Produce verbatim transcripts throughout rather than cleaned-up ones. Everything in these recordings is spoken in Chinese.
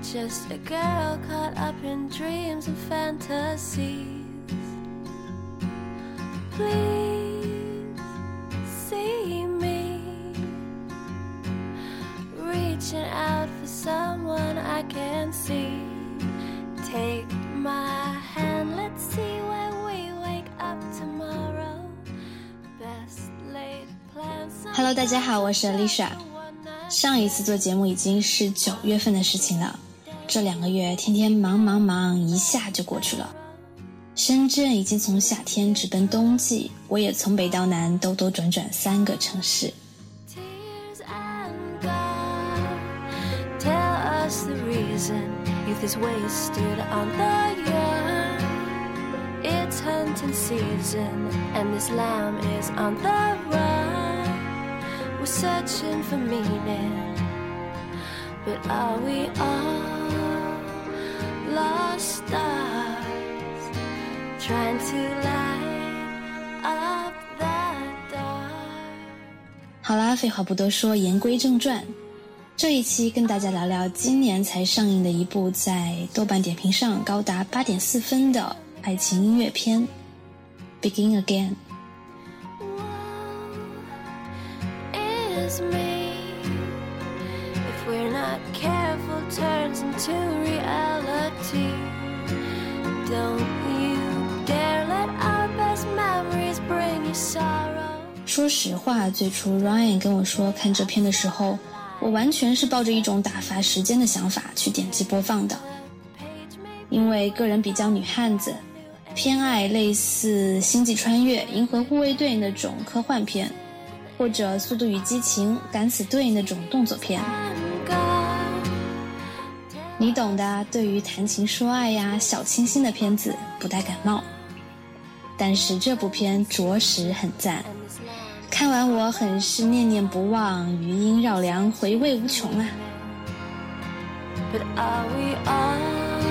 just a girl caught up in dreams and fantasies. Please see me reaching out for someone I can see. Take my hand, let's see where we wake up tomorrow. Best laid plans. Hello， 大家好，我是 Alicia。上一次做节目已经是九月份的事情了，这两个月天天忙忙忙，一下就过去了。深圳已经从夏天直奔冬季，我也从北到南兜兜转转三个城市。 Tears and God, tell us the reason youth is wasted on the young. It's hunting season and this lamb is on the run. We're searching for meaning, but are we all lost stars?Trying to light up the dark. 好啦，废话不多说，言归正传。这一期跟大家聊聊今年才上映的一部在豆瓣点评上高达 八点四 分的爱情音乐片 Begin Again。 Woe is me if we're not careful turns into reality. Don't you?Dare let our best memories bring you sorrow. 说实话，最初 Ryan 跟我说看这片的时候，我完全是抱着一种打发时间的想法去点击播放的。因为个人比较女汉子，偏爱类似星际穿越、银河护卫队那种科幻片，或者速度与激情、敢死队那种动作片。你懂的，对于谈情说爱呀、小清新的片子不太感冒。但是这部片着实很赞，看完我很是念念不忘，余音绕梁，回味无穷啊。 But are we all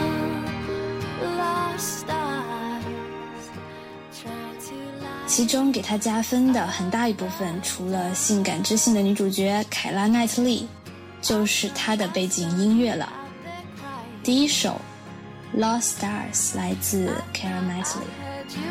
lost stars trying to light? 其中给他加分的很大一部分，除了性感知性的女主角凯拉奈特利，就是她的背景音乐了。第一首 Lost Stars 来自 Keira Knightley。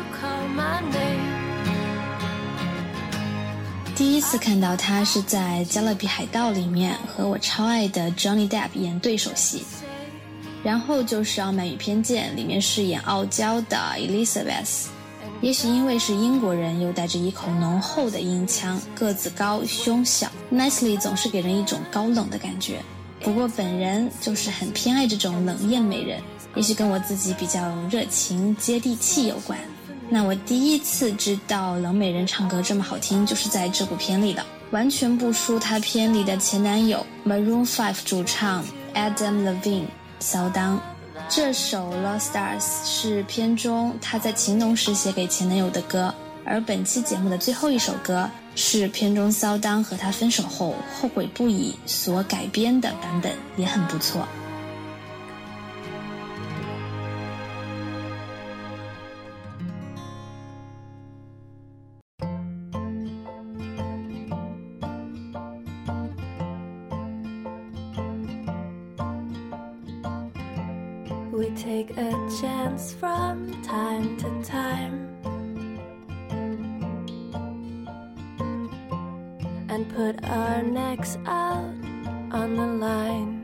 第一次看到她是在加勒比海盗里面和我超爱的 Johnny Depp 演对手戏，然后就是傲慢与偏见里面饰演傲娇的 Elizabeth。 也许因为是英国人，又带着一口浓厚的英腔，个子高胸小， Knightley 总是给人一种高冷的感觉。不过本人就是很偏爱这种冷艳美人，也许跟我自己比较热情接地气有关。那我第一次知道冷美人唱歌这么好听，就是在这部片里的，完全不输她片里的前男友 Maroon 五 主唱 Adam Levine 骚当。这首 Lost Stars 是片中她在情浓时写给前男友的歌，而本期节目的最后一首歌是片中骚当和他分手后后悔不已所改编的版本，也很不错。 We take a chance from time to time.And put our necks out on the line.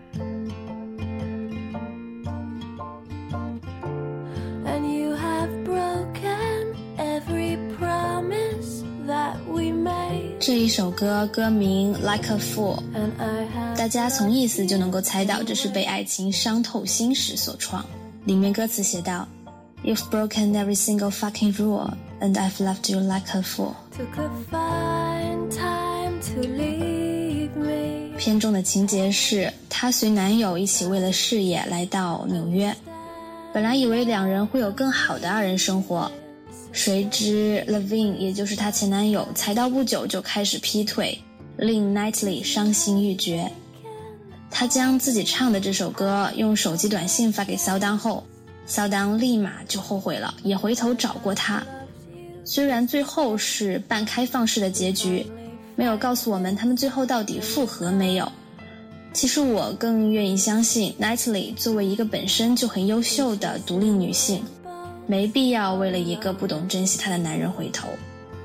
And you have broken every promise that we made. 这一首歌歌名 Like a Fool， And I have 大家从意思就能够猜到这是被爱情伤透心时所创。里面歌词写道 You've broken every single fucking rule And I've left you like a fool. Took a fine time to leave me. 片中的情节是她随男友一起为了事业来到纽约，本来以为两人会有更好的二人生活，谁知 Levine 也就是她前男友才到不久就开始劈腿，令 Knightley 伤心欲绝。他将自己唱的这首歌用手机短信发给骚当后，骚当立马就后悔了，也回头找过他。虽然最后是半开放式的结局，没有告诉我们他们最后到底复合没有， 其实我更愿意相信 Natalie 作为一个本身就很优秀的独立女性，没必要为了一个不懂珍惜她的男人回头。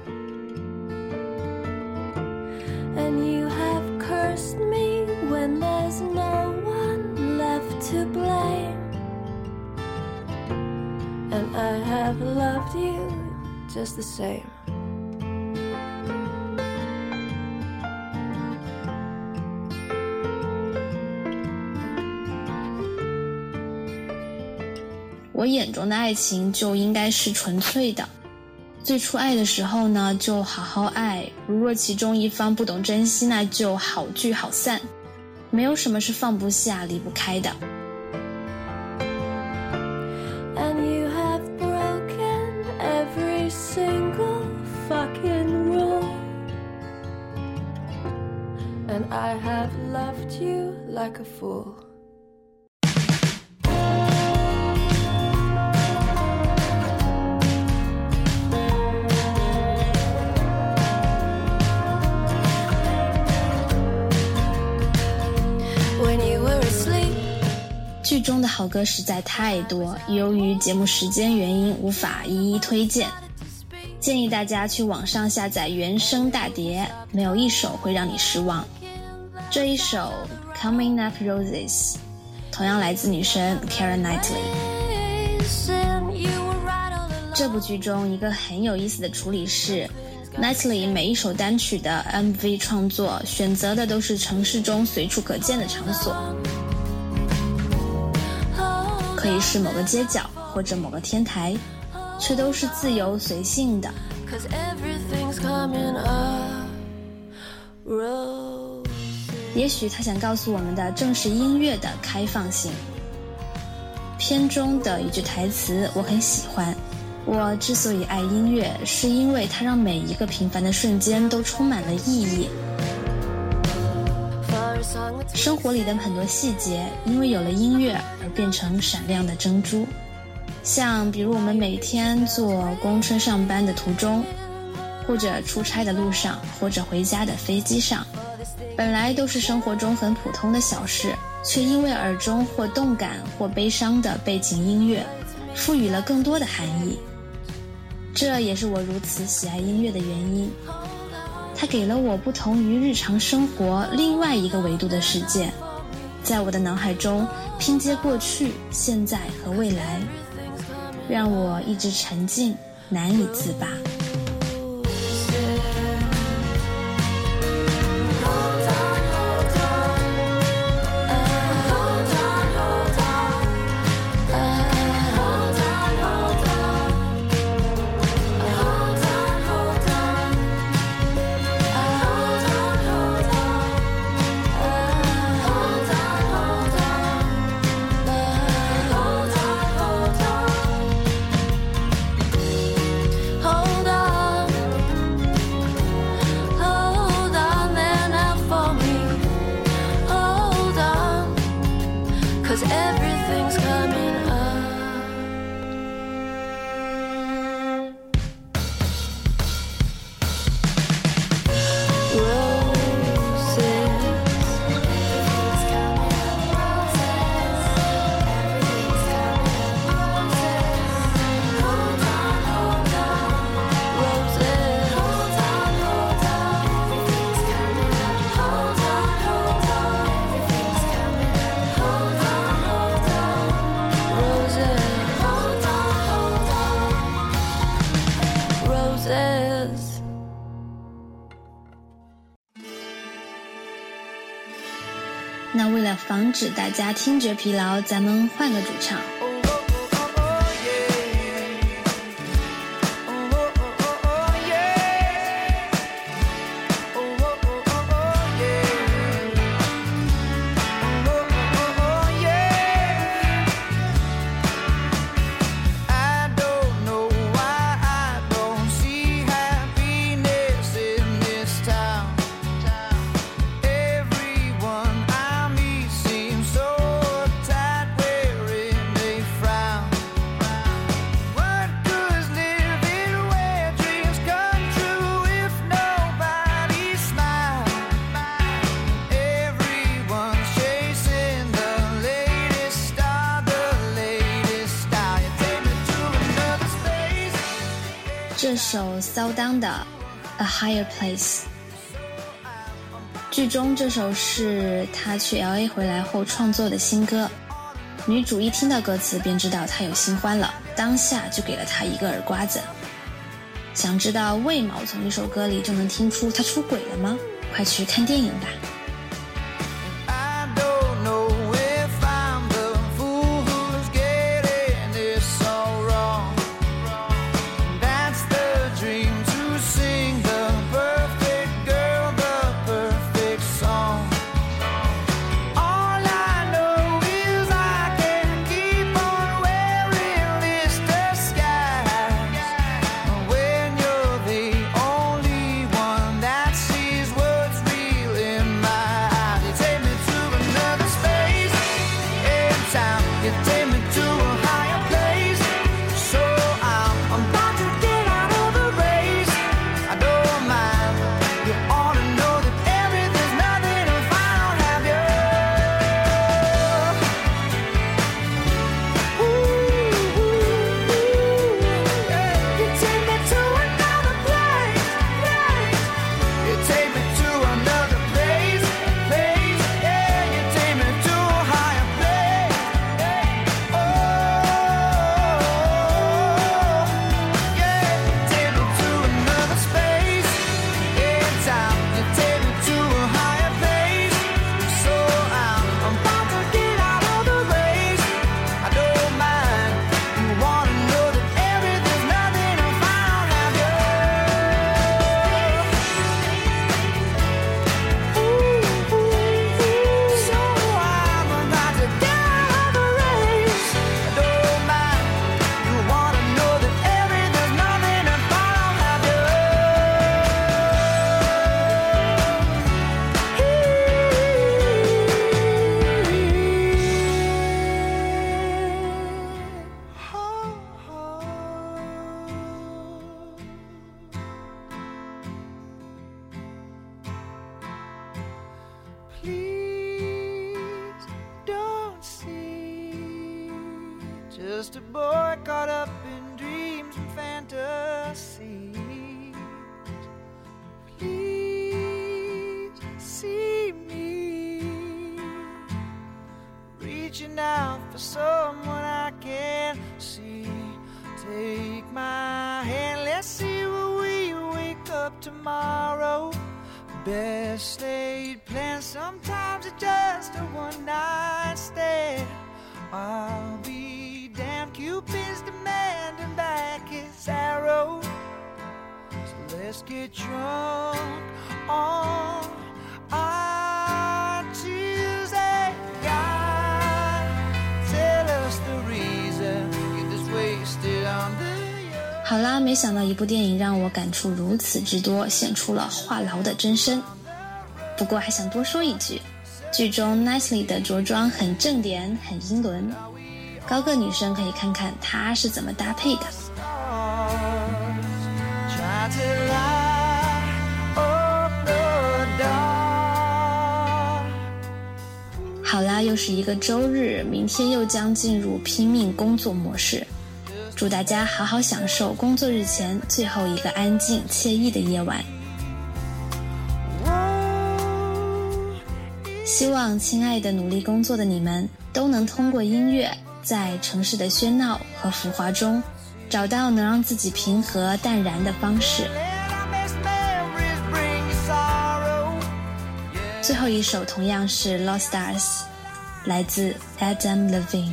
And you have cursed me when there's no one left to blame, and I have loved you just the same. 「我眼中的爱情就应该是纯粹的，最初爱的时候呢，就好好爱，如若其中一方不懂珍惜，那就好聚好散，没有什么是放不下离不开的。」 And you have broken every single fucking rule, and I have loved you like a fool. When you were asleep, 剧中的好歌实在太多，由于节目时间原因无法一一推荐，建议大家去网上下载原声大碟，没有一首会让你失望。这一首 Coming Up Roses 同样来自女神 Keira Knightley。 这部剧中一个很有意思的处理是， Knightley 每一首单曲的 M V 创作选择的都是城市中随处可见的场所，可以是某个街角或者某个天台，却都是自由随性的。也许他想告诉我们的正是音乐的开放性。片中的一句台词我很喜欢，我之所以爱音乐，是因为它让每一个平凡的瞬间都充满了意义。生活里的很多细节因为有了音乐而变成闪亮的珍珠，像比如我们每天坐公车上班的途中，或者出差的路上，或者回家的飞机上，本来都是生活中很普通的小事，却因为耳中或动感或悲伤的背景音乐赋予了更多的含义。这也是我如此喜爱音乐的原因，它给了我不同于日常生活另外一个维度的世界，在我的脑海中拼接过去、现在和未来，让我一直沉浸，难以自拔。那为了防止大家听觉疲劳，咱们换个主唱。 首骚当的 A Higher Place。 剧中这首是他去 L A 回来后创作的新歌，女主一听到歌词便知道他有新欢了，当下就给了他一个耳刮子。想知道为毛从一首歌里就能听出他出轨了吗？快去看电影吧。 Just a boy caught up in dreams and fantasies. Please see me reaching out for someone I can't see. Take my hand, let's see where we wake up tomorrow. Best laid plans, sometimes it's just a one night stand. I'll be damned, Cupid's demanding back his arrow. So let's get drunk on our Tuesday. God, tell us the reason, get this wasted on the 好啦，没想到一部电影让我感触如此之多，显出了话痨的真身。不过还想多说一句，剧中 Nicely 的着装很正点，很英伦，高个女生可以看看她是怎么搭配的。好啦，又是一个周日，明天又将进入拼命工作模式。祝大家好好享受工作日前最后一个安静惬意的夜晚。希望亲爱的努力工作的你们都能通过音乐，在城市的喧闹和浮华中，找到能让自己平和淡然的方式。最后一首同样是 Lost Stars， 来自 Adam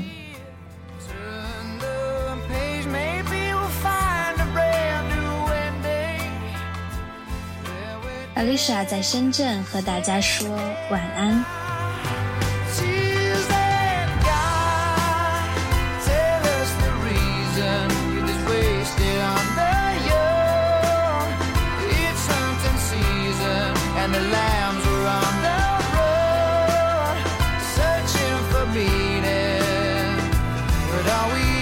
Levine。Alicia 在深圳和大家说晚安。 Are we